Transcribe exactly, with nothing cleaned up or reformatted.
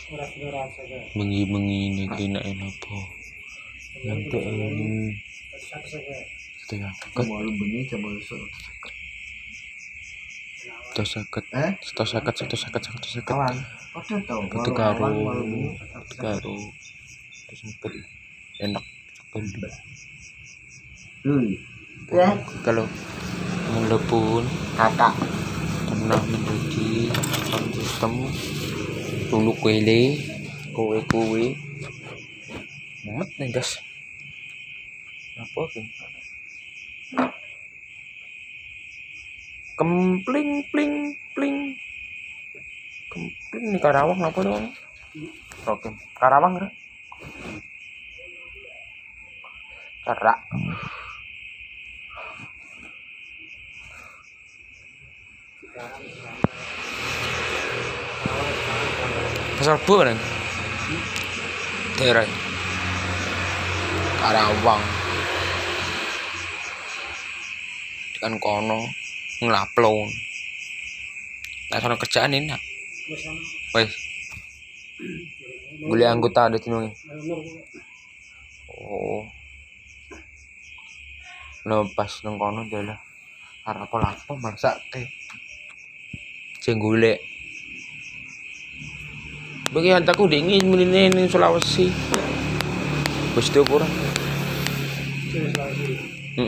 bengi-bengi ini kena apa nanti ini setengah Malu bengi coba satu seket satu seket satu seket satu seket kawan padha to itu karo karo satu seket enak sekali. Ya Kalau melepun kakak pernah menjadi sistem dulu kuele kue kue mumet nih guys apa sih kempling pling pling kempling nih Karawang apa dong oke Karawang kan Karak pasal bu kan daerah Karawang kan kono ngelaplon nah sono kerjaan ini nak wes boleh anggota ada tinungi oh lepas nang kono jalan arep apa lapo marsake sing golek bagi hantaku dingin menine ning Sulawesi wis kurang